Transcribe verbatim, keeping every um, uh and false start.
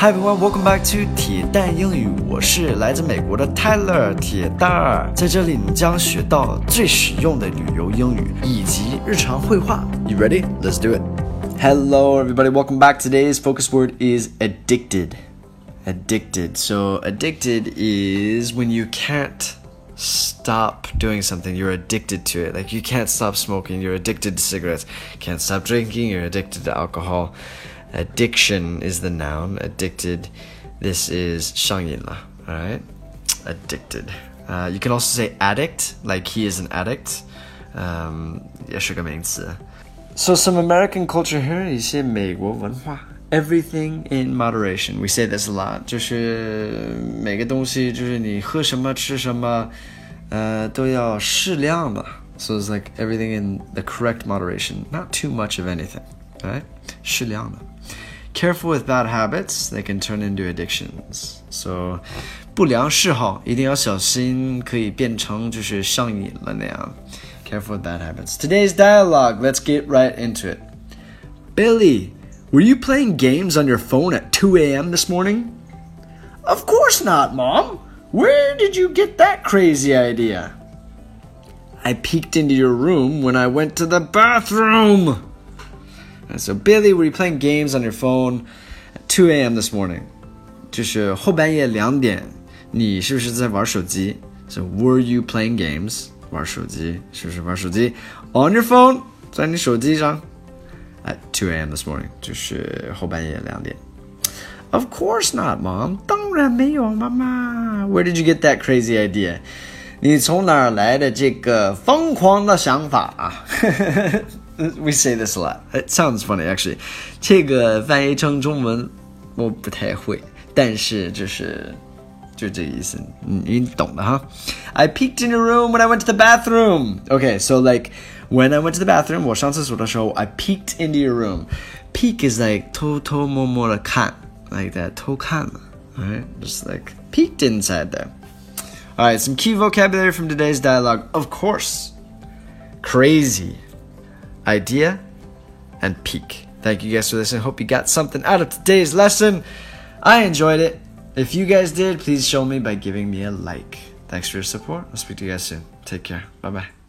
Hi everyone, welcome back to 铁蛋英语，我是来自美国的 Tyler 铁蛋儿，在这里你将学到最实用的旅游英语以及日常会话。You ready? Let's do it. Hello everybody, welcome back. Today's focus word is addicted. Addicted. So addicted is when you can't stop doing something, you're addicted to it. Like you can't stop smoking, you're addicted to cigarettes. Can't stop drinking, you're addicted to alcohol.Addiction is the noun. Addicted. This is 上瘾了. All right. Addicted. Uh, you can also say addict, like he is an addict. Um, 也是个名词. So some American culture here, 一些美国文化. Everything in moderation. We say this a lot. 就是每个东西，就是你喝什么吃什么，呃，都要适量的. So it's like everything in the correct moderation. Not too much of anything. All right. 适量的. Careful with bad habits, they can turn into addictions. So, 不良嗜好一定要小心，可以变成就是上瘾了那样。Careful with bad habits. Today's dialogue, let's get right into it. Billy, were you playing games on your phone at two a.m. this morning? Of course not, Mom. Where did you get that crazy idea? I peeked into your room when I went to the bathroom.So Billy, were you playing games on your phone at two a.m. this morning? 就是后半夜两点，你是不是在玩手机 So were you playing games? 玩手机，是不是玩手机 On your phone? 在你手机上 At two a.m. this morning 就是后半夜两点 Of course not, Mom. 当然没有，妈妈 Where did you get that crazy idea? 你从哪儿来的这个疯狂的想法啊？We say this a lot. It sounds funny, actually. 这个翻译成中文我不太会，但是就是就这个意思，你懂的哈。I peeked in your room when I went to the bathroom. Okay, so like when I went to the bathroom, 我上厕所的时候 I peeked into your room. Peek is like 偷偷摸摸的看 like that 偷看了 Alright, just like peeked inside there. Alright, some key vocabulary from today's dialogue. Of course, crazy.Idea and peak. Thank you guys for listening. Hope you got something out of today's lesson. I enjoyed it. If you guys did, please show me by giving me a like. Thanks for your support. I'll speak to you guys soon. Take care. Bye bye.